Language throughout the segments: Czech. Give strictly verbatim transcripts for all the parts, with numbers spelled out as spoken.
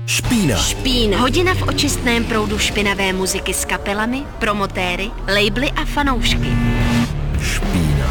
Špína. Špína. Hodina v očistném proudu špinavé muziky s kapelami, promotéry, labely a fanoušky. Špína.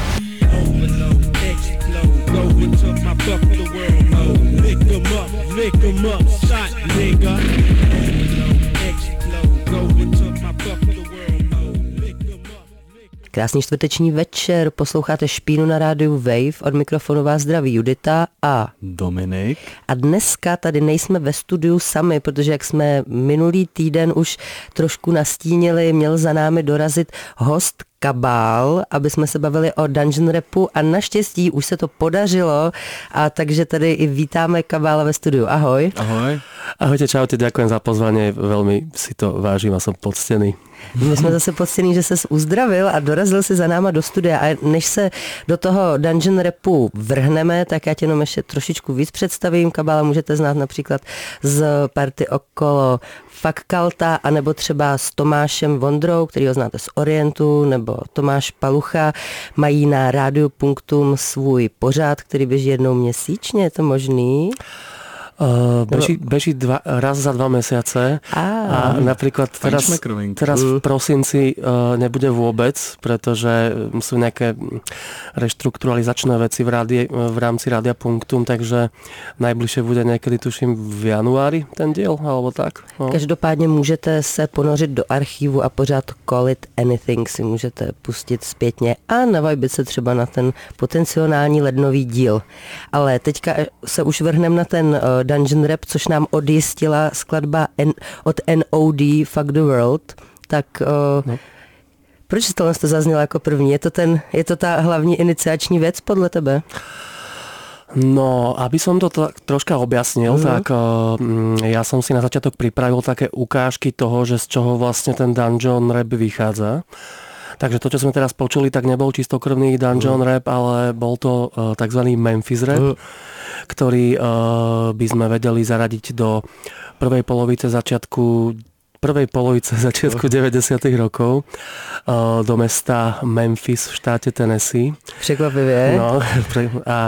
Krásný čtvrteční večer, posloucháte Špínu na rádiu Wave, od mikrofonu vás zdraví Judita a Dominik. A dneska tady nejsme ve studiu sami, protože jak jsme minulý týden už trošku nastínili, měl za námi dorazit host Kabál, aby jsme se bavili o dungeon rapu a naštěstí už se to podařilo, a takže tady i vítáme Kabála ve studiu. Ahoj. Ahoj. Ahojte, čaute, ďakujem za pozvanie, veľmi si to vážim a som poctený. My jsme zase poctěný, že ses uzdravil a dorazil si za náma do studia, a než se do toho dungeon rapu vrhneme, tak já tě jenom ještě trošičku víc představím. Kabála můžete znát například z party okolo Fakalta, anebo třeba s Tomášem Vondrou, kterýho znáte z Orientu, nebo Tomáš Palucha. Mají na Rádiu Punktum svůj pořád, který běží jednou měsíčně, je to možný? Uh, beží, beží dva, raz za dva mesiace a, a napríklad teraz, teraz v prosinci uh, nebude vôbec, pretože sú nejaké reštrukturalizačné veci v, rádi, v rámci Rádia Punktum, takže najbližšie bude niekedy, tuším, v januári ten diel, alebo tak. No. Každopádně můžete se ponořit do archívu a pořád Call It Anything si můžete pustit zpětně a navajbit se třeba na ten potenciální lednový díl. Ale teďka se už vrhneme na ten uh, dungeon rap, což nám odjistila skladba N- od N O D Fuck the World, tak uh, no. Proč tohle to zaznělo jako první? Je to, ten, je to ta hlavní iniciační věc podle tebe? No, aby som to t- troška objasnil, mm-hmm. tak uh, ja som si na začiatok pripravil také ukážky toho, že z čoho vlastne ten dungeon rap vychádza. Takže to, čo sme teraz počuli, tak nebol čistokrvný dungeon mm. rap, ale bol to uh, takzvaný Memphis rap, mm. ktorý uh, by sme vedeli zaradiť do prvej polovice začiatku prvej polovice začiatku deväťdesiatych rokov uh, do mesta Memphis v štáte Tennessee. Překvapivě. No, a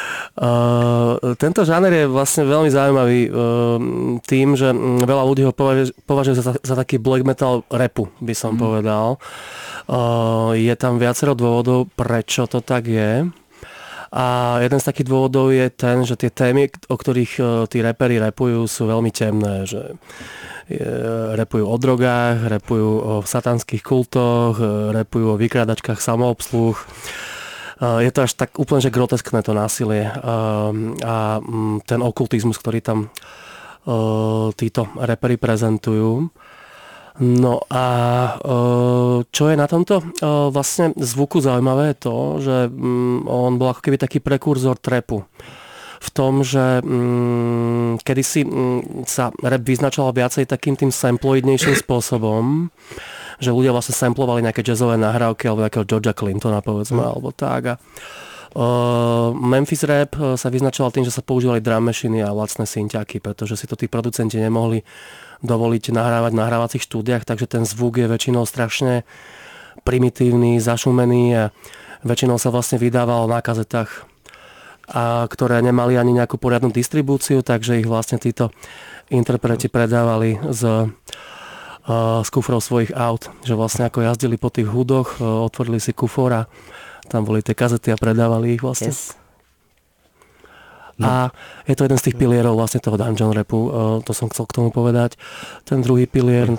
uh, tento žáner je vlastne veľmi zaujímavý uh, tým, že veľa ľudí ho považuje, považuje za, za taký black metal rapu, by som mm. povedal. Uh, je tam viacero dôvodov, prečo to tak je. A jeden z takých dôvodov je ten, že tie témy, o ktorých uh, tí raperi rapujú, sú veľmi temné, že repujú o drogách, repujú o satanských kultoch, repujú o vykrádačkách samoobsluh. Je to až tak úplne, že groteskné to násilie a ten okultizmus, ktorý tam títo raperi prezentujú. No a čo je na tomto vlastne zvuku zaujímavé je to, že on bol ako keby taký prekurzor trapu. V tom, že mm, kedysi mm, sa rap vyznačoval viacej takým tým samploidnejším spôsobom, že ľudia vlastne samplovali nejaké jazzové nahrávky alebo nejakého Georgia Clintona, povedzme, mm. alebo tak. A, uh, Memphis rap sa vyznačoval tým, že sa používali drum machiny a lacné synťaky, pretože si to tí producenti nemohli dovoliť nahrávať v nahrávacích štúdiách, takže ten zvuk je väčšinou strašne primitívny, zašumený a väčšinou sa vlastne vydával na kazetách, a ktoré nemali ani nejakú poriadnu distribúciu, takže ich vlastne títo interpreti predávali z, z kufrov svojich aut, že vlastne ako jazdili po tých hudoch, otvorili si kufor a tam boli tie kazety a predávali ich vlastne. Yes. No. A je to jeden z tých pilierov vlastne toho dungeon rapu, to som chcel k tomu povedať. Ten druhý pilier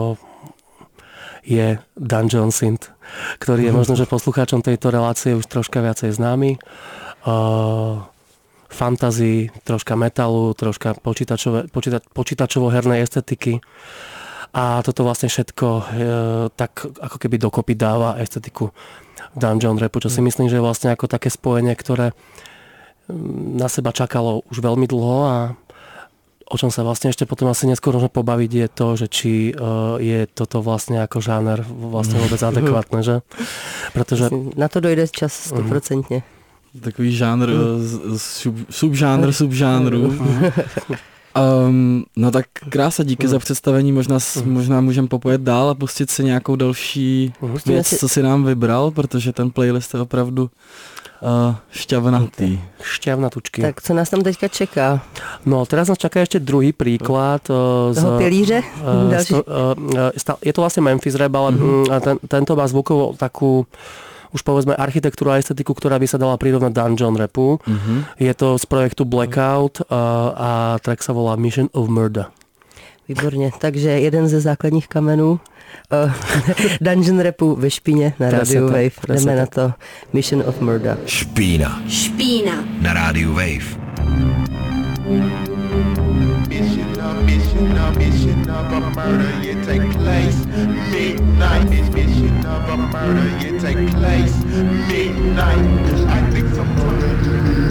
je dungeon synth, ktorý je možno, že poslucháčom tejto relácie už troška viacej známy. Uh, fantazii, troška metalu, troška počítačové, počíta, počítačovo-hernej estetiky a toto vlastne všetko uh, tak ako keby dokopy dáva estetiku dungeon rapu, čo si myslím, že je vlastne ako také spojenie, ktoré na seba čakalo už veľmi dlho a o čom sa vlastne ešte potom asi neskôr môžeme pobaviť je to, že či uh, je toto vlastne ako žáner vlastne vôbec adekvátne, že? Pretože na to dojde čas stoprocentně. Takový žánr, mm. sub, subžánr, subžánru. Um, no tak krása, díky hmm. za představení, možná, hmm. možná můžeme popojet dál a pustit si nějakou další hmm. věc, si... co si nám vybral, protože ten playlist je opravdu uh, šťavnatý. Šťavnatučky. Tak co nás tam teďka čeká? No teraz nás čaká ešte druhý príklad. Uh, Toho pilíře? Uh, sto, uh, je to vlastne Memphis Rap, ale uh-huh. ten, tento má zvukovo takú už povedzme architektúru a estetiku, ktorá by sa dala prirovnať dungeon rapu. Uh-huh. Je to z projektu Blackout uh, a track sa volá Mission of Murder. Výborně, takže jeden ze základních kamenů uh, dungeon rapu ve špíně na rádiu Wave. Jdeme na to Mission of Murder. Špína. Špína. Na rádiu Wave. Mission of, mission of, mission of a murder, you take place midnight. Mission of a murder, you take place midnight. I think sometimes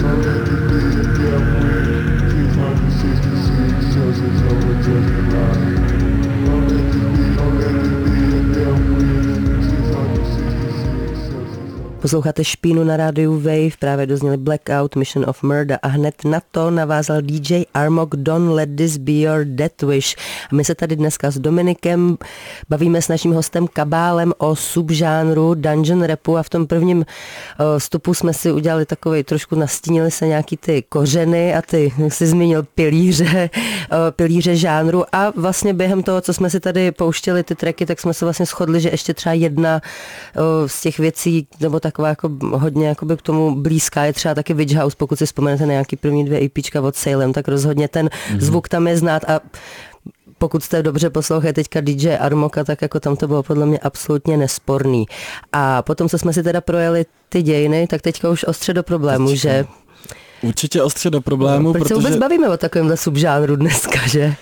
Posloucháte Špínu na rádiu Wave, právě dozněli Blackout, Mission of Murder a hned na to navázal D J Armok, Don't Let This Be Your Death Wish. A my se tady dneska s Dominikem bavíme s naším hostem Kabálem o subžánru dungeon rapu a v tom prvním vstupu jsme si udělali takovej, trošku nastínili se nějaký ty kořeny a ty, jak jsi zmínil, pilíře, pilíře žánru a vlastně během toho, co jsme si tady pouštěli ty tracky, tak jsme se vlastně shodli, že ještě třeba jedna z těch věcí, nebo tak taková jako hodně jakoby k tomu blízká je třeba taky Witch House, pokud si vzpomenete na nějaký první dvě EPčka od Salem, tak rozhodně ten mm-hmm. zvuk tam je znát a pokud jste dobře poslouchali teďka D J Armoka, tak jako tam to bylo podle mě absolutně nesporný. A potom, co jsme si teda projeli ty dějiny, tak teďka už ostře do problému, teďka. Že... Určitě ostře do problému, no, proč protože... se vůbec bavíme o takovémhle subžánru dneska, že?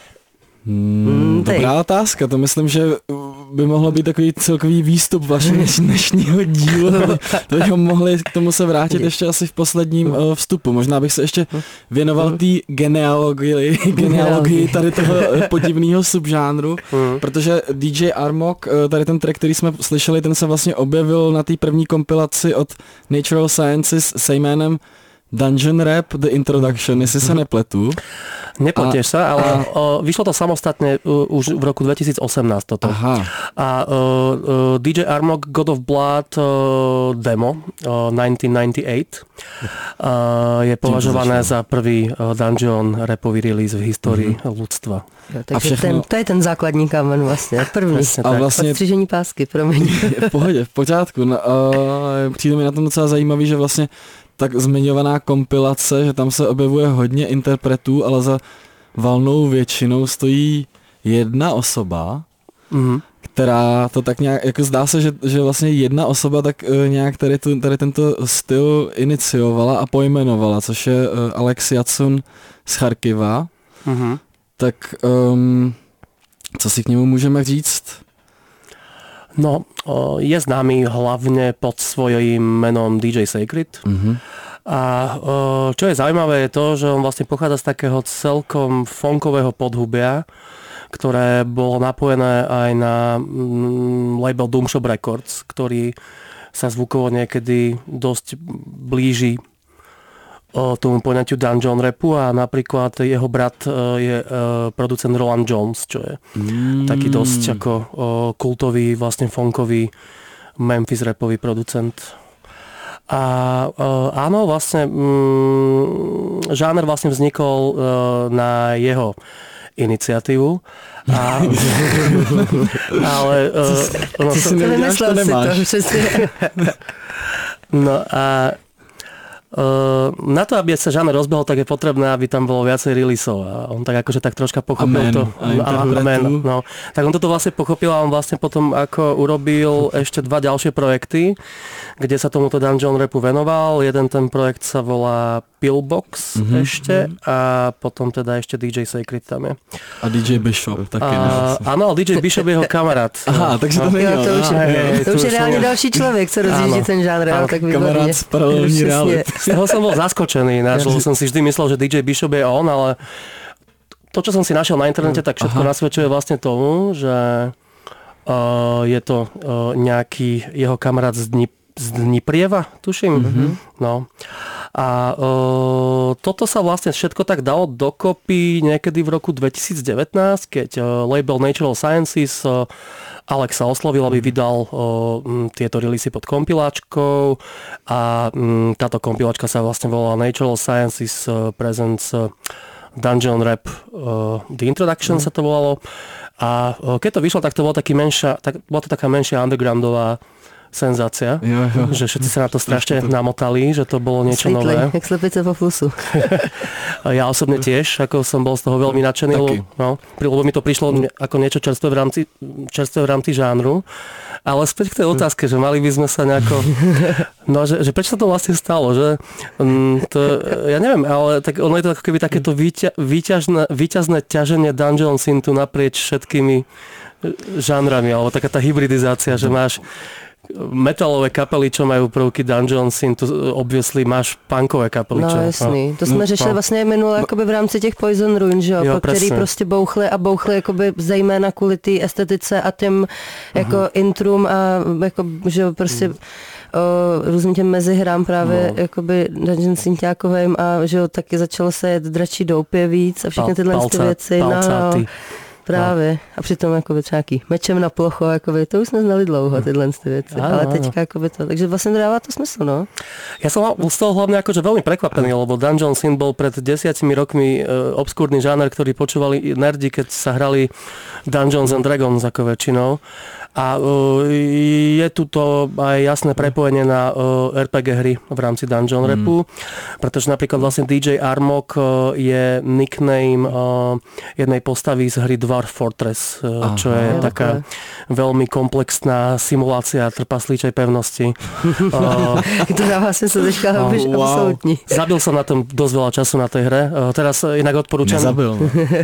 Hmm, dobrá otázka, to myslím, že by mohlo být takový celkový výstup vašeho dnešního dílu. To bychom mohli k tomu se vrátit ještě asi v posledním uh, vstupu. Možná bych se ještě věnoval té genealogii, genealogii tady toho podivného subžánru, protože D J Armok, tady ten track, který jsme slyšeli, ten se vlastně objevil na té první kompilaci od Natural Sciences se jménem Dungeon Rap The Introduction, jestli se nepletu. Nepletěš sa, ale a... o, vyšlo to samostatne uh, už v roku dvetisíc osemnásť toto. Aha. A uh, uh, D J Armok God of Blood uh, demo uh, devätnásť deväťdesiatosem uh, je považované za prvý uh, dungeon rapový release v histórii mm-hmm. ľudstva. Ja, takže všechno... ten, to je ten základní kámen vlastně, první. A vlastně odstřižení pásky, promiň. V pohodě, v pořádku. No, uh, přijde mi na tom docela zajímavý, že vlastně tak zmiňovaná kompilace, že tam se objevuje hodně interpretů, ale za valnou většinou stojí jedna osoba, mm-hmm. která to tak nějak, jako zdá se, že, že vlastně jedna osoba tak uh, nějak tady, tu, tady tento styl iniciovala a pojmenovala, což je uh, Alex Jacun z Charkiva. Mm-hmm. Tak um, co si k němu můžeme říct? No, je známy hlavne pod svojím menom D J Sacred. Mm-hmm. A čo je zaujímavé je to, že on vlastne pochádza z takého celkom funkového podhubia, ktoré bolo napojené aj na label Doom Shop Records, ktorý sa zvukovo niekedy dosť blíži tomu poňatiu dungeon rapu a napríklad jeho brat je producent Roland Jones, čo je mm. taký dosť ako kultový, vlastne funkový Memphis rapový producent. A áno, vlastne mm, žáner vlastne vznikol na jeho iniciatívu. A, ale no, co si neděláš, to nemáš. No a Uh, na to, aby sa žáner rozbehol, tak je potrebné, aby tam bolo viacej releaseov a on tak akože tak troška pochopil amen, to. A amen, no. Tak on toto vlastne pochopil a on vlastne potom ako urobil ešte dva ďalšie projekty, kde sa tomuto dungeon rapu venoval. Jeden ten projekt sa volá Pillbox mm-hmm. ešte a potom teda ešte D J Sacred tam je. A D J Bishop taky. A, áno, D J Bishop je jeho kamarát. Aha, takže to no. není. To už je, je, to už je reálne další človek, co rozjíždí ten žánr. Tak kamarát z paralelní reality. Z toho som bol zaskočený, lebo som si vždy myslel, že D J Bishop je on, ale to, čo som si našiel na internete, tak všetko Aha. nasvedčuje vlastne tomu, že uh, je to uh, nejaký jeho kamarát z, Dni, z Dniprieva, tuším. Mm-hmm. No. A uh, toto sa vlastne všetko tak dalo dokopy niekedy v roku dvetisíc devätnásť, keď uh, label Natural Sciences uh, Alexa oslovil, aby vydal uh, tieto releasy pod kompiláčkou a um, táto kompiláčka sa vlastne volala Natural Sciences uh, Presents uh, Dungeon Rap uh, The Introduction mm. sa to volalo. A uh, keď to vyšlo, tak to bola, taký menšia, tak, bola to taká menšia undergroundová senzácia, jo, jo. Že všetci sa na to strašne namotali, že to bolo niečo Svítle, nové. jak slepice po flusu. Ja osobne tiež, ako som bol z toho veľmi nadšený, lebo, no, lebo mi to prišlo ako niečo čerstvé v rámci, čerstvé v rámci žánru. Ale späť k tej otázke, že mali by sme sa nejako... No, že, že prečo sa to vlastne stalo, že... Um, to, ja neviem, ale tak ono je to ako keby takéto výťa, výťažné, výťazné ťaženie Dungeon Synthu naprieč všetkými žánrami, alebo taká tá hybridizácia, že máš metalové kapely, čo majú prvky Dungeon Synth, obviously máš punkové kapely. No čo, jasný, no. to jsme no, řešili no. vlastně minule jakoby v rámci těch Poison Ruin, že jo, jo který prostě bouchly a bouchly jakoby zejména kvůli té estetice a těm jako uh-huh. intrum a jako, že jo, prostě uh. o různým těm mezihrám právě no. jakoby Dungeon Synthákovým a že jo, taky začalo se jet dračí doupě víc a všechny tyhle Palca, ty věci. palcáty. No, právě. A přitom jakoby třeba nějaký mečem na plocho, jakoby, to už jsme znali dlouho, tyhle ty věci. Áno, ale teďka jakoby to, takže vlastně dává to smysl, no. Ja som z toho hlavne akože veľmi prekvapený, lebo Dungeon Synth bol pred desiatimi rokmi e, obskúrny žáner, ktorý počúvali nerdi, keď sa hrali Dungeons and Dragons ako väčšinou. A uh, je tu to aj jasné prepojenie na uh, er pé gé hry v rámci Dungeon mm. Rapu, pretože napríklad vlastne dý džej Armok uh, je nickname uh, jednej postavy z hry Dwarf Fortress, uh, Aha, čo je okay. taká veľmi komplexná simulácia trpaslíčej pevnosti. uh, to dává smysl, teďka oh, wow. absolútne. Zabil som na tom dosť veľa času na tej hre. Uh, teraz uh, inak odporúčam... Nezabil.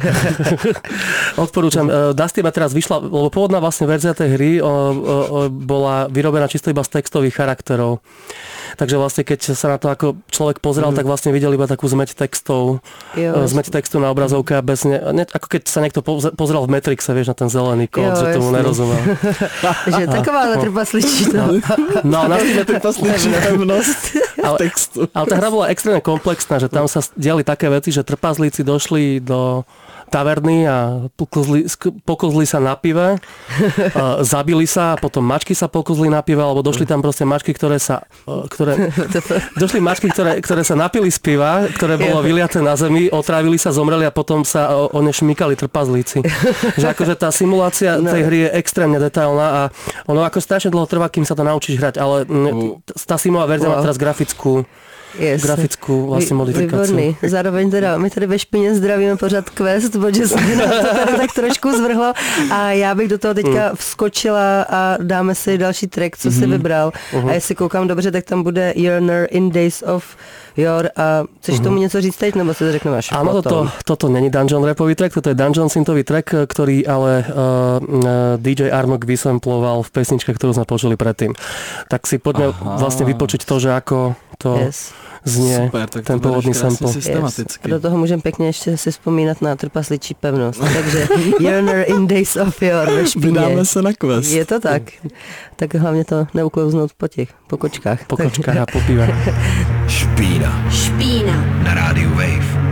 odporúčam. Uh, Dusty ma teraz vyšla, lebo pôvodná vlastne verzia tej hry o, o, o, bola vyrobená čisto iba z textových charakterov. Takže vlastne keď sa na to ako človek pozrel, mm. tak vlastne videl iba takú zmeť textov, jo, zmeť textu na obrazovke a bez ne, ne, ako keď sa niekto pozrel v Matrixe, vieš, na ten zelený kód, jo, že tomu nerozumel. Že taková trpasličí to. No, na tým trpasličí pevnosť textu. Ale tá hra bola extrémne komplexná, že tam sa diali také veci, že trpaslíci došli do taverny a pokozli, pokozli sa na pive, zabili sa a potom mačky sa pokozli na pive, alebo došli tam proste mačky, ktoré sa ktoré, došli mačky, ktoré, ktoré sa napili z piva, ktoré bolo vyliaté na zemi, otrávili sa, zomreli a potom sa o, o ne šmykali trpazlíci. Že akože tá simulácia tej hry je extrémne detailná a ono ako strašne dlho trvá, kým sa to naučíš hrať, ale tá simulová verzia má teraz grafickú Yes. grafickou vlastně modifikaci. Výborný. Zároveň teda, my tady ve Špině zdravíme pořád Quest, protože se nás to tady tak trošku zvrhlo a já bych do toho teďka vskočila a dáme si další track, co mm-hmm. si vybral. Uh-huh. A jestli koukám dobře, tak tam bude Yearner in Days of Your a chceš uh-huh. tomu něco říct teď, nebo si to řekneme až Áno, toto, toto není Dungeon Rapový track, toto je Dungeon Synthový track, ktorý ale uh, dý džej Armok vysamploval v pesničke, ktorú sme počuli predtým. Tak si poďme Aha. vlastne vypočiť to, že ako to yes. znie super, ten pôvodný sample. Yes. A do toho můžeme pěkně ještě si vzpomínat na trpasličí pevnost. Takže Yearner in Days of Your ve Špíně. Vydáme se na Quest. Je to tak. Tak hlavně to neuklouznout po těch, po kočkách. Po kočkách a po pive. Špína. Špína. Na rádiu Wave.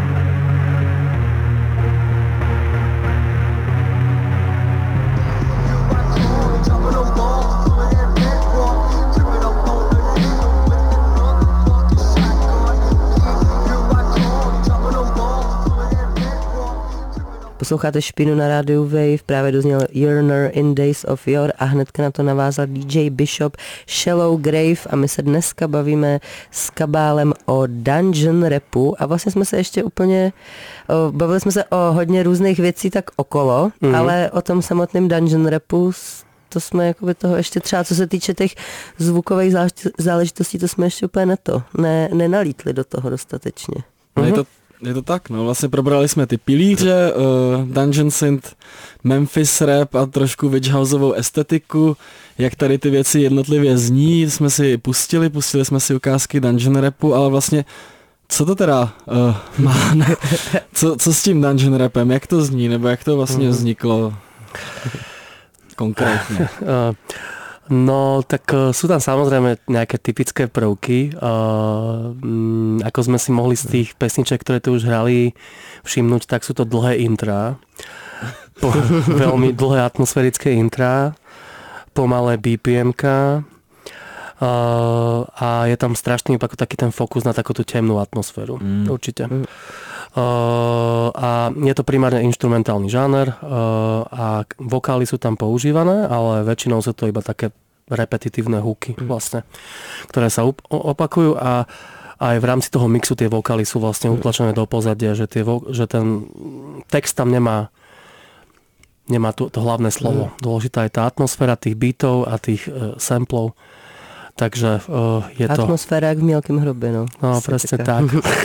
Posloucháte Špínu na rádiu Wave, právě dozněl Yearner in Days of Your a hnedka na to navázal dý džej Bishop Shallow Grave a my se dneska bavíme s Kabálem o Dungeon Rapu a vlastně jsme se ještě úplně, o, bavili jsme se o hodně různých věcí tak okolo, mm-hmm. ale o tom samotném Dungeon Rapu to jsme jakoby toho ještě třeba, co se týče těch zvukových záležitostí, to jsme ještě úplně na to, ne, nenalítli do toho dostatečně. Mm-hmm. Je to Je to tak, no vlastně probrali jsme ty pilíře, uh, Dungeon Synth, Memphis Rap a trošku Witch Houseovou estetiku, jak tady ty věci jednotlivě zní, jsme si pustili, pustili jsme si ukázky Dungeon Rapu, ale vlastně co to teda uh, má, ne? co, co s tím Dungeon Rapem, jak to zní, nebo jak to vlastně vzniklo konkrétně? No, tak sú tam samozrejme nejaké typické prvky. Uh, um, ako sme si mohli z tých pesniček, ktoré tu už hrali, všimnúť, tak sú to dlhé intrá. Po, veľmi dlhé atmosférické intrá, pomalé bé pé emka uh, a je tam strašný ako taký ten fokus na takúto temnú atmosféru. Mm. Určite. Mm. Uh, a je to primárne inštrumentálny žáner uh, a vokály sú tam používané, ale väčšinou sú to iba také repetitívne hooky vlastne, ktoré sa up- opakujú a aj v rámci toho mixu tie vokály sú vlastne utlačené do pozadia, že, tie vo- že ten text tam nemá nemá to, to hlavné slovo. Dôležitá je tá atmosféra tých beatov a tých uh, samplov. Takže uh, je to... Atmosféra jak v Mielkém hrobě, no. No, presne tak.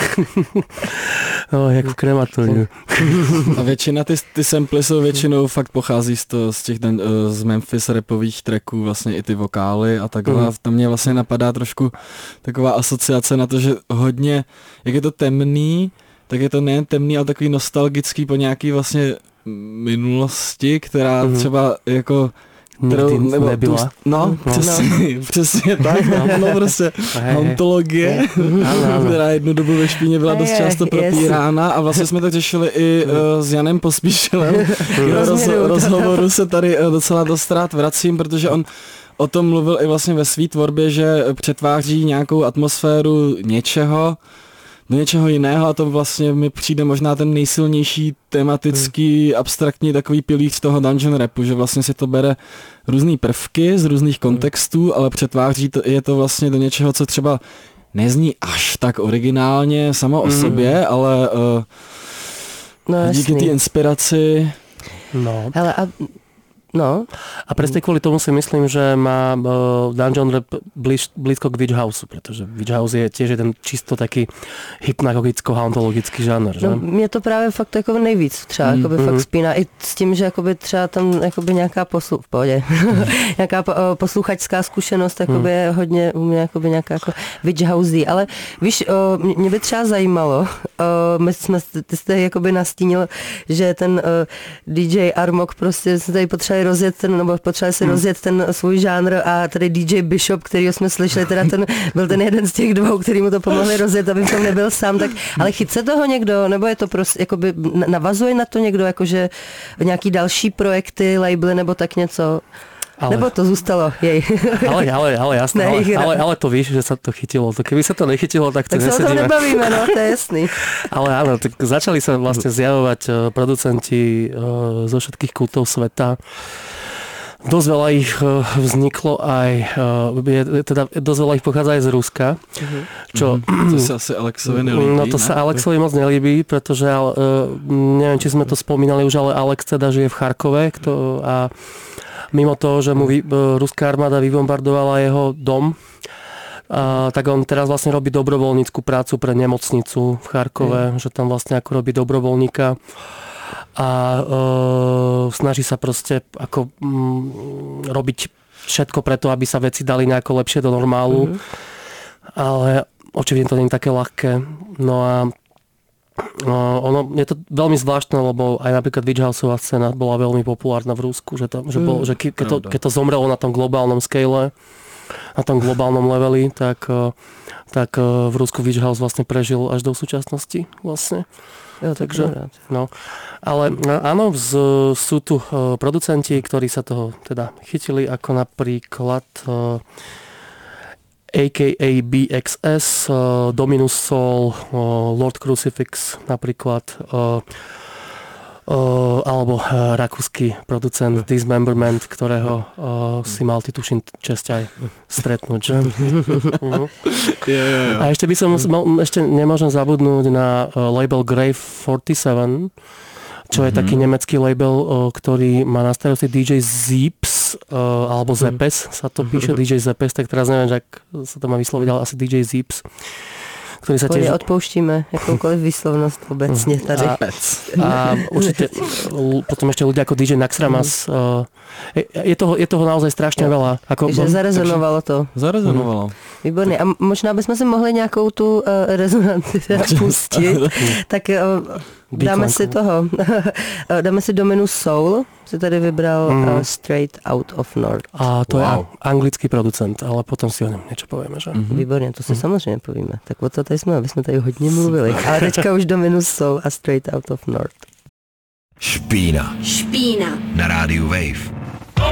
No, jak v krematoriu. A většina, ty, ty samply jsou většinou fakt pochází z, to, z těch z Memphis rapových tracků, vlastně i ty vokály a takhle. Mm. Tam mě vlastně napadá trošku taková asociace na to, že hodně, jak je to temný, tak je to nejen temný, ale takový nostalgický po nějaký vlastně minulosti, která mm. třeba jako kterou, nebo nebyla. Tu, no, no, přesně, no. přesně tak, no, no prostě ontologie, která jednu dobu ve Špíně byla dost často propírána a vlastně jsme to řešili i uh, s Janem Pospíšilem. Na roz, rozhovoru se tady uh, docela dost rád vracím, protože on o tom mluvil i vlastně ve své tvorbě, že přetváří nějakou atmosféru něčeho do něčeho jiného a to vlastně mi přijde možná ten nejsilnější tematický, hmm. abstraktní takový pilíř toho dungeon rapu, že vlastně si to bere různý prvky z různých kontextů, ale přetváří to, je to vlastně do něčeho, co třeba nezní až tak originálně samo o hmm. sobě, ale uh, no, díky té inspiraci... No. Hele, a No. A presne kvôli tomu si myslím, že má uh, Dungeon Rap blíž, blízko k Witch Houseu, pretože Witch House je tiež jeden čisto taký hypnagogicko-hauntologický žánr. Že? No, mě to právě fakt jako nejvíc třeba mm. mm. fakt spíná i s tím, že jakoby třeba tam jakoby nějaká poslu... v pohodě, nějaká po, posluchačská zkušenost jakoby mm. je hodně u mě jakoby nějaká jako Witch Housey, ale víš, o, mě by třeba zajímalo, o, my jsme, ty jste jakoby nastínil, že ten o, D J Armok prostě se tady potřebuje rozjet ten, nebo potřebovali si hmm. rozjet ten svůj žánr a tady D J Bishop, kterýho jsme slyšeli, teda ten byl ten jeden z těch dvou, který mu to pomohli rozjet, aby v tom nebyl sám, tak, ale chytce toho někdo, nebo je to prostě, jakoby navazuje na to někdo, jakože nějaký další projekty, labely, nebo tak něco? Ale, nebo to zůstalo jej. Ale, ale, ale jasné, ale, ale, ale to víš, že sa to chytilo. To keby sa to nechytilo, tak to tak nesedíme. Tak sa o tom nebavíme, no, to je jasný. Ale áno, tak začali sa vlastne zjavovať producenti zo všetkých kútov sveta. Dosť veľa ich vzniklo aj, je, teda dosť veľa ich pochádza aj z Ruska. Uh-huh. Čo, mm-hmm. To sa asi Alexovi nelíbí. No to ne? sa Alexovi moc nelíbí, pretože neviem, či sme to spomínali už, ale Alex teda žije v Charkove kto, a mimo toho, že mu vy, ruská armáda vybombardovala jeho dom, a, tak on teraz vlastne robí dobrovoľníckú prácu pre nemocnicu v Charkove, mm. že tam vlastne ako robí dobrovoľníka a e, snaží sa proste ako m, robiť všetko preto, aby sa veci dali nejako lepšie do normálu. Mm. Ale očividne to nie je také ľahké. No a No, ono, je to veľmi zvláštne, lebo aj napríklad Witch Houseová scéna bola veľmi populárna v Rusku, že, tam, že, bol, že ke, keď, to, keď to zomrelo na tom globálnom scale, na tom globálnom leveli, tak, tak v Rusku Witch House vlastne prežil až do súčasnosti vlastne. Ja, Takže, no. Ale áno, z, sú tu producenti, ktorí sa toho teda chytili, ako napríklad á ká á bé iks es, uh, Dominus Soul, uh, Lord Crucifix napríklad, uh, uh, alebo uh, rakúsky producent Dismemberment, ktorého uh, si mal ty tuším česť aj stretnúť, že? uh-huh. yeah, yeah, yeah. A ešte by som, ešte nemôžem zabudnúť na uh, label Grave forty-seven, čo je mm-hmm. taký nemecký label, ktorý má na starosti dý džej Zeeps, alebo Zepes sa to píše, dý džej Zepes, tak teraz neviem, že ak sa to má vysloviť, ale asi dý džej Zeeps. Ktorý sa tiež... Odpouštíme jakoukoliv výslovnosť obecne tady. A, a určite potom ešte ľudia ako dý džej Naxxramas. Je, je, toho, je toho naozaj strašne veľa. Ako, že zarezonovalo to. Zarezonovalo. Výborně. A možná bychom si mohli nějakou tu uh, rezonanci pustit. Tak uh, Dáme si toho, dáme si Dominus Soul, si tady vybral mm. uh, Straight Out of North. A to wow. je anglický producent, ale potom si o něm něco povíme, že? Mm-hmm. Výborně, to si mm. samozřejmě povíme. Tak o co tady jsme, aby jsme tady hodně mluvili. Ale teďka už Dominus Soul a Straight Out of North. Špína. Špína. Na rádiu Wave.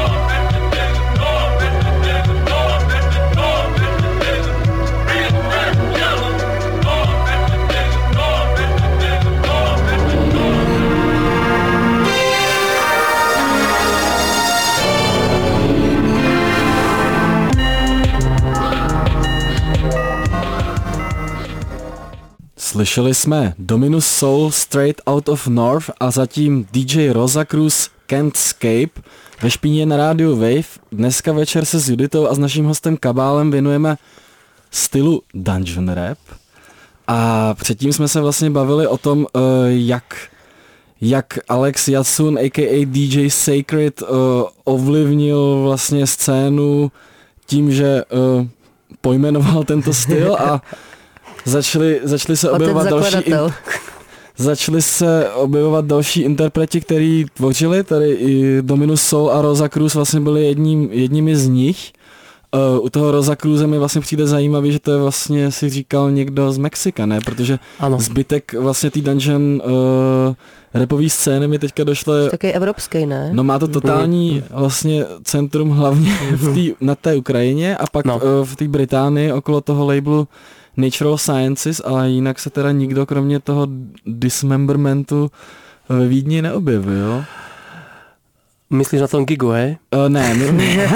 Slyšeli jsme Dominus Soul Straight Out of North a zatím D J Rosa Cruz Can't Escape ve Špíně na rádiu Wave. Dneska večer se s Juditou a s naším hostem Kabálem věnujeme stylu dungeon rap a předtím jsme se vlastně bavili o tom, jak, jak Alex Jasun aka D J Sacred ovlivnil vlastně scénu tím, že pojmenoval tento styl a Začali, začali se objevovat další in, začali se objevovat další interpreti, který tvořili, tady i Dominus Soul a Rosa Cruz vlastně byli jedním, jedními z nich. Uh, u toho Rosa Cruze mi vlastně přijde zajímavý, že to je vlastně, si říkal, někdo z Mexika, ne? Protože ano. Zbytek vlastně tý dungeon uh, rapový scény mi teďka došle... Taky evropský, ne? No má to totální vlastně centrum hlavně v tý, na té Ukrajině a pak no. uh, v té Británii okolo toho labelu Natural Sciences, ale jinak se teda nikdo kromě toho dismembermentu ve Vídni neobjevil. Myslíš na tom gigu, hej? Uh, ne. My...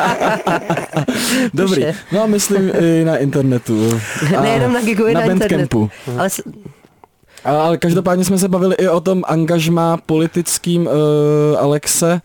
Dobrý. No myslím i na internetu. Nejenom na gigu, i na, na internetu. Ale... ale každopádně jsme se bavili i o tom angažmá politickým uh, Alexe.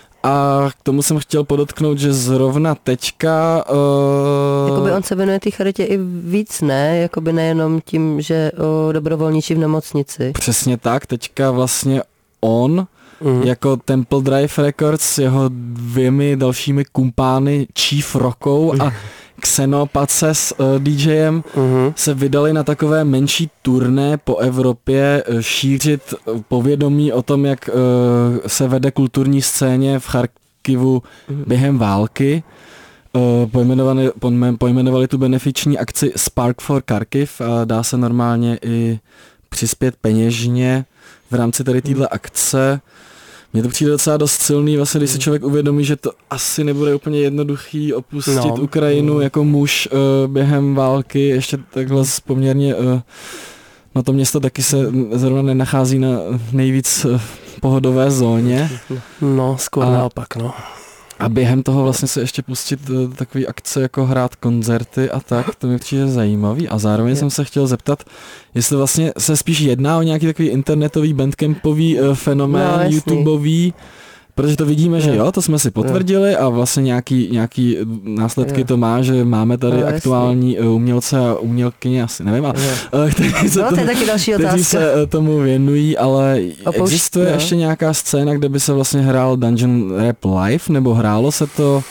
A k tomu jsem chtěl podotknout, že zrovna teďka... Uh... Jakoby on se věnuje té charitě i víc, ne? Jakoby nejenom tím, že o, dobrovolničí v nemocnici. Přesně tak, teďka vlastně on, mm. jako Temple Drive Records s jeho dvěmi dalšími kumpány Chief Rockou a Xenopace s uh, DJem uh-huh. se vydali na takové menší turné po Evropě šířit povědomí o tom, jak uh, se vede kulturní scéně v Charkivu uh-huh. během války. Uh, pojmenovali, pojmenovali tu benefiční akci Spark for Kharkiv a dá se normálně i přispět peněžně v rámci tady téhle akce. Mně to přijde docela dost silný, vlastně, když si člověk uvědomí, že to asi nebude úplně jednoduchý opustit no. Ukrajinu jako muž uh, během války, ještě takhle poměrně, uh, no to město taky se zrovna nenachází na nejvíc uh, pohodové zóně. No, skoro naopak, no. A během toho vlastně se ještě pustit uh, takový akce, jako hrát koncerty a tak, to mi přijde zajímavý. A zároveň je. jsem se chtěl zeptat, jestli vlastně se spíš jedná o nějaký takový internetový, bandcampový uh, fenomén, no, YouTubeový, protože to vidíme, že jo, to jsme si potvrdili a vlastně nějaký, nějaký následky jo. to má, že máme tady no, aktuální jasný. umělce a umělkyně, asi nevím, a, kteří, se, no, to, tomu, kteří se tomu věnují, ale Opoušť, existuje no. ještě nějaká scéna, kde by se vlastně hrál Dungeon Rap live, nebo hrálo se to?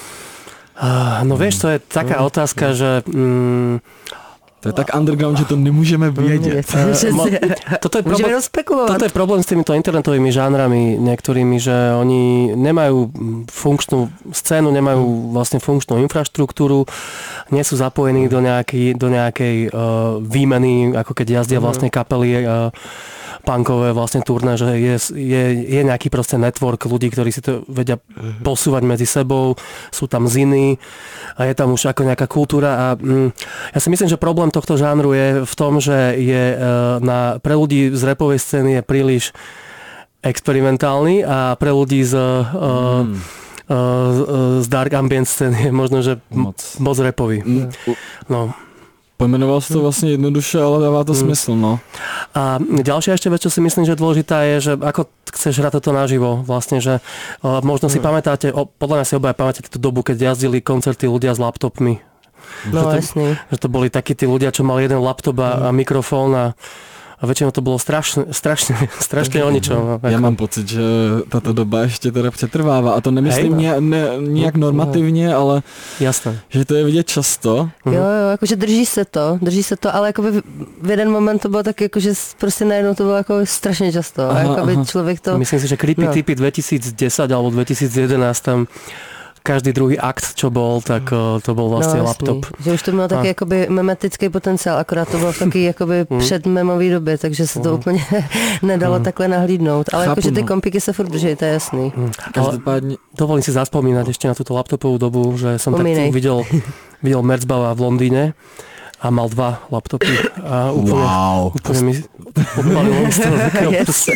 Uh, no vieš, to je taká no. otázka, že... Mm, to je tak underground, že to nemůžeme vědět. Mo, toto, je problém, toto je problém s týmito internetovými žánrami niektorými, že oni nemajú funkčnú scénu, nemajú vlastne funkčnú infraštruktúru, nie sú zapojení do nejakej, do nejakej uh, výmeny, ako keď jazdia vlastne kapely uh, punkové vlastne turné, že je, je, je nejaký proste network ľudí, ktorí si to vedia posúvať medzi sebou, sú tam ziny a je tam už ako nejaká kultúra a mm, ja si myslím, že problém tohto žánru je v tom, že je na, pre ľudí z rapovej scény je príliš experimentálny a pre ľudí z, mm. uh, z dark ambient scény je možno, že moc, moc rapový. Mm. No. Pojmenoval si to vlastně jednoduše, ale dává to mm. smysl, no. A ďalšia ešte vec, čo si myslím, že dôležitá je, že ako chceš hrať toto naživo, vlastne, že uh, možno si mm. pamätáte, o, podľa mňa si obaja pamätáte tú dobu, keď jazdili koncerty ľudia s laptopmi. No že to, jasný. Že to boli takí tí ľudia, čo mali jeden laptop a, mm. a mikrofón a A väčšinou to bolo strašne, strašne, strašne o ničom. Já mám pocit, že tato doba ještě teda přetrvává a to nemyslím Hej, no. ne, nijak normativně, ale Jasné. že to je vidět často. Jo, jo, jakože drží se to, drží se to, ale jakoby v- v jeden moment to bylo tak, jakože s- prostě najednou to bylo jako strašně často. A Aha, jakoby aha. člověk to... Myslím si, že Creepy No. Tipy dvetisícdesať alebo dvetisícjedenásť tam každý druhý akt, čo bol, tak uh, to bol vlastne no, laptop. Jasný, že už to mělo taky A- jakoby memetický potenciál, akorát to bylo v taky jakoby předmemový době, takže se to úplně nedalo takhle nahlídnout. Ale Chápu, jakože ty no. kompiky se furt drží, to je jasný. Každopádně Dovolím si zaspomínať ešte na túto laptopovú dobu, že som tak Spomínaj. videl, videl Merzbaua v Londýne a mal dva laptopy a úplne, wow. úplne mi odpalilo z toho takého Yes. prostě.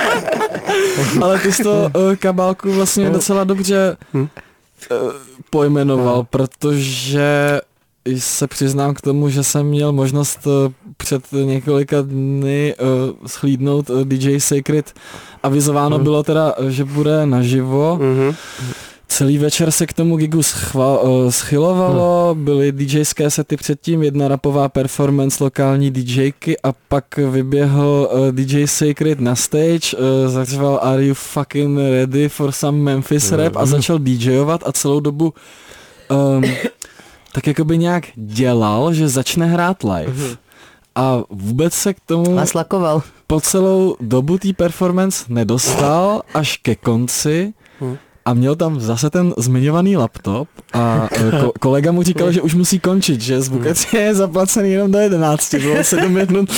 Ale ty jsi to uh, kabálku vlastně docela dobře Hm. uh, pojmenoval, protože se přiznám k tomu, že jsem měl možnost uh, před několika dny uh, schlídnout uh, D J Sacred. Avizováno Hm. bylo teda, že bude naživo. Mhm. Celý večer se k tomu gigu schva, uh, schylovalo, byly DJské sety předtím, jedna rapová performance lokální DJky a pak vyběhl uh, D J Sacred na stage, uh, zařval Are you fucking ready for some Memphis rap a začal DJovat a celou dobu um, tak jakoby nějak dělal, že začne hrát live. A vůbec se k tomu A slakoval. po celou dobu té performance nedostal až ke konci a měl tam zase ten zmiňovaný laptop a e, ko- kolega mu říkal, že už musí končit, že zvukač je zaplacený jenom do jedenácti, bylo sedm minut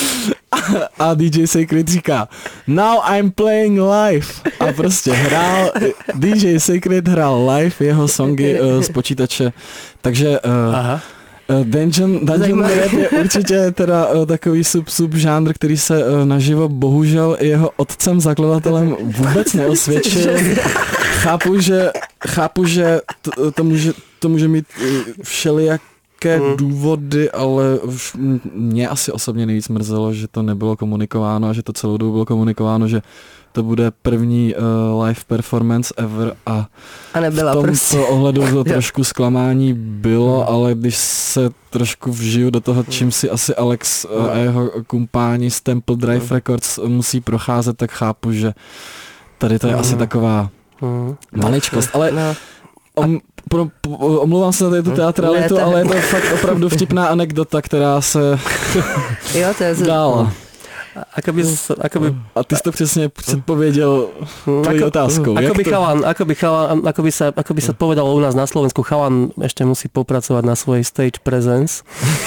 a D J Sacred říká Now I'm playing live a prostě hrál, D J Sacred hrál live jeho songy e, z počítače, takže e, Aha. Uh, Dungeon, Dungeon Zajímavé. rap je určitě teda uh, takový sub, subžánr, který se uh, naživo bohužel jeho otcem zakladatelem vůbec neosvědčil. chápu, že, chápu, že to, to, může, to může mít uh, všelijaké Mm. důvody, ale už m- mě asi osobně nejvíc mrzelo, že to nebylo komunikováno a že to celou dobu bylo komunikováno, že to bude první uh, live performance ever a A nebyla v tomto prostě. ohledu to trošku zklamání bylo, ale když se trošku vžiju do toho, čím si asi Alex a jeho kumpáni z Temple Drive Records musí procházet, tak chápu, že tady to je asi taková Mhm. maličkost, ale No. om, pro, po, omlouvám se za tady tu teatralitu, Ne, to- ale je to fakt opravdu vtipná anekdota, která se Jo, to je... dala. Ako by, ako by, A ty jsi to přesně předpověděl tvojí ako, otázkou. ako Jak by to- chalan, ako by chalan, ako by sa, ako by sa povedalo u nás na Slovensku, chalan ešte musí popracovať na svojej stage presence.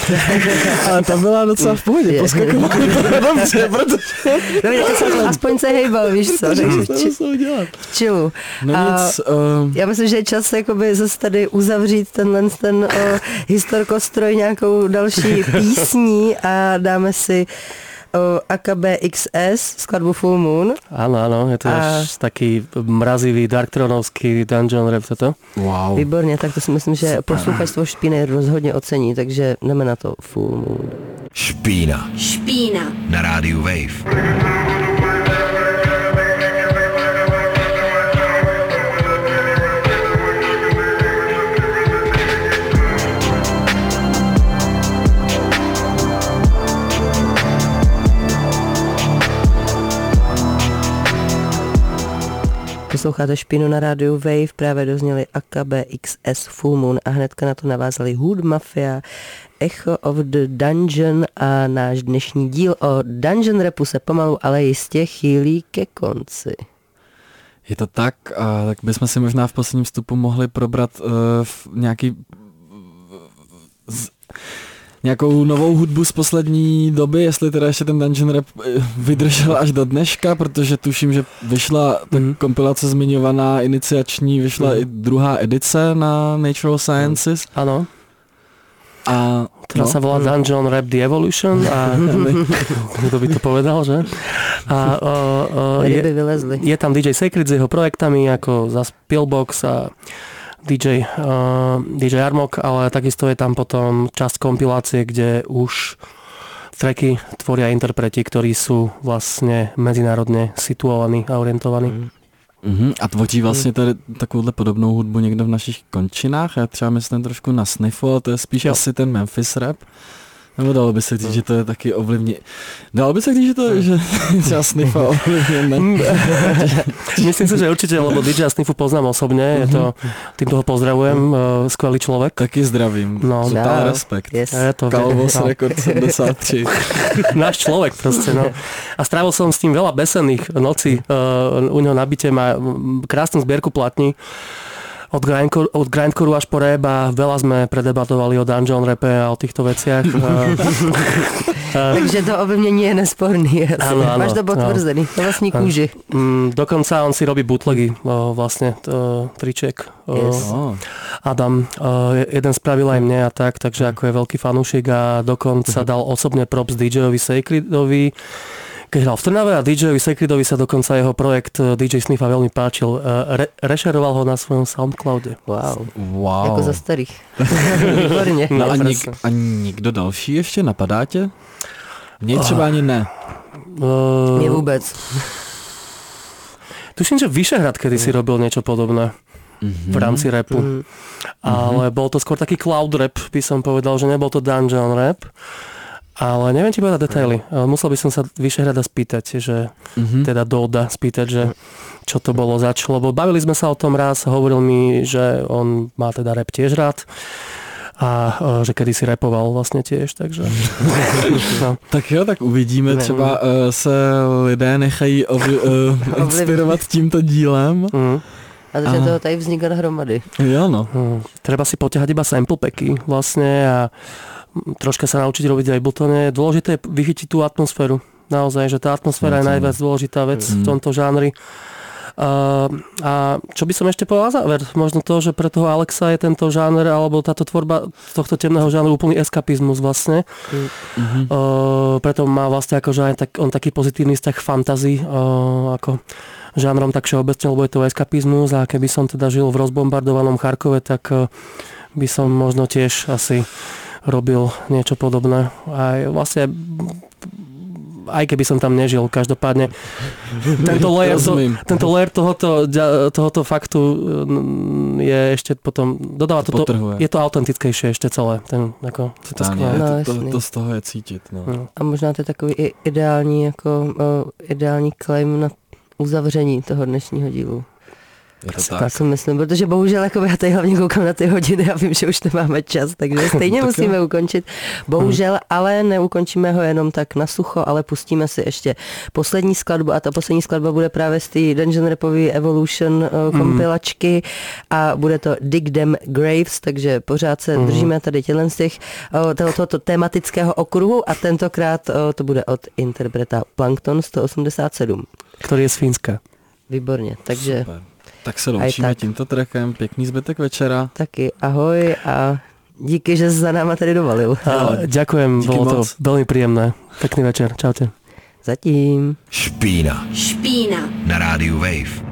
Ale ta byla docela v pohodě, Je. poskakovala dobře, protože No, tak jsem aspoň se hejbal, víš co, takže v, či, co udělat. v čilu. No A- nic, uh, Já myslím, že je čas jakoby zase tady uzavřít tenhle ten o, historkostroj nějakou další písní a dáme si o, A K B X S skladbu Full Moon. Áno, áno, je to A- až taký mrazivý, darktronovský dungeon rap toto. wow. Výborně, tak to si myslím, že posluchačstvo Špíny rozhodně ocení, takže jdeme na to Full Moon. Špína Špína. na rádiu Wave. Posloucháte Špínu na rádiu Wave, právě dozněli A K B X S Full Moon a hnedka na to navázali Hood Mafia, Echo of the Dungeon a náš dnešní díl o dungeon rapu se pomalu, ale jistě chýlí ke konci. Je to tak, a tak bychom si možná v posledním vstupu mohli probrat uh, v nějaký z, nějakou novou hudbu z poslední doby, jestli teda ještě ten dungeon rap eh, vydržel až do dneška, protože tuším, že vyšla ta Mhm. kompilace zmiňovaná, iniciační, vyšla Mhm. i druhá edice na Natural Sciences. Áno, A ktorá sa volá Dungeon Rap The Evolution a kto by to povedal, že? A o, o, Ryby je, vylezly. je tam D J Sacred s jeho projektami ako za Pillbox a D J, uh, D J Armok, ale takisto je tam potom časť kompilácie, kde už tracky tvoria interpreti, ktorí sú vlastne medzinárodne situovaní a orientovaní. Mm. Mhm, a tvoří vlastně tady takovouhle podobnou hudbu někdo v našich končinách. Já třeba myslím trošku na sniffu, ale to je spíš Jo. asi ten Memphis rap. Nebo dalo by se říct, že to je taky ovlivně... Dalo by se říct, že to je, že třeba Sniffa ovlivněné. Myslím si, že určite, lebo dý džeja Sniffu poznám osobne, je to, týmto ho pozdravujem, skvelý človek. Taky zdravím, no, super, respekt. Yes. Je to, Calvos no. rekord sedemdesiat tri. Náš človek proste, no. A strávil som s tým veľa besenných nocí. Uh, u neho na byte má krásnu zbierku platní. Od grindcore, od grindcoreu až po rap a veľa sme predebatovali o dungeon rape a o týchto veciach. Takže to ovlivnění je nesporný. Áno, áno, máš to potvrzený, to vlastní kůži. Mm, dokonca on si robí bootlegy, o, vlastne to, triček. O, Yes. Adam, o, jeden spravil aj mne a tak, takže ako je veľký fanúšik a dokonca dal osobne props dý džejovi Sacredovi, keď hral v Trnave a dý džejovi Sacredovi sa dokonca jeho projekt dý džej Sniffa veľmi páčil. Re- rešeroval ho na svojom Soundcloude. Wow. Wow. Jako za starých. Výborně. No a, nik- a nikdo další ještě napadá tě? Mně třeba ani ne. Uh, Mě vůbec. Tuším, že Vyšehrad kedy si robil niečo podobné v rámci rapu. Mm. Ale bol to skôr taký cloud rap, by som povedal, že nebol to dungeon rap. Ale neviem ti povedať detaily. Musel by som sa Vyšehrada spýtať, že mm-hmm. teda Doda spýtať, že čo to bolo zač, lebo bavili sme sa o tom raz, hovoril mi, že on má teda rap tiež rád a že kedy si rapoval vlastně tiež, takže... no. Tak jo, tak uvidíme, třeba uh, se lidé nechají ovi, uh, inspirovat tímto dílem. Mm. A to, že toho tady vzniká hromady. Jo, no. Mm. Treba si poťahať iba sample packy vlastne a troška sa naučiť robiť Abletone. Dôležité je vychytiť tú atmosféru. Naozaj, že tá atmosféra je najviac dôležitá vec mm. v tomto žánri. Uh, a čo by som ešte povedal na záver? Možno to, že pre toho Alexa je tento žáner alebo táto tvorba tohto temného žánru úplný eskapizmus vlastne. Mm-hmm. Uh, preto má vlastne akože aj tak, on taký pozitívny vzťah fantasy uh, ako žánrom tak všeobecne, lebo je to eskapizmus a keby som teda žil v rozbombardovanom Charkove, tak uh, by som možno tiež asi robil niečo podobné. Aj vlastne aj keby som tam nežil, každopádne tento layer, to, tento layer tohoto, tohoto faktu je ešte potom, dodáva to, to je to autentickejšie ešte celé. Ten, ako, to, Táně, no, to, to, to z toho je cítit. No. No. A možná to je takový i ideální, jako, o, ideální claim na uzavření toho dnešního dílu. Je to tak. Tak si myslím, protože bohužel jako já tady hlavně koukám na ty hodiny a vím, že už nemáme čas, takže stejně musíme jo. ukončit. Bohužel, ale neukončíme ho jenom tak na sucho, ale pustíme si ještě poslední skladbu a ta poslední skladba bude právě z té Dungeon Rapové Evolution uh, kompilačky a bude to Dig Them Graves, takže pořád se mm. držíme tady tělen z těch uh, tohoto, tohoto tematického okruhu a tentokrát uh, to bude od interpreta Plankton sto osmdesát sedm. Který je z Fínska. Výborně, takže... Super. Tak se loučíme tak. tímto trackem. Pěkný zbytek večera. Taky ahoj a díky, že jsi za náma tady dovalil. A, ďakujem, díky bolo moc. To veľmi príjemné. Pekný večer, čaute. Zatím. Špína. Špína. Na rádiu Wave.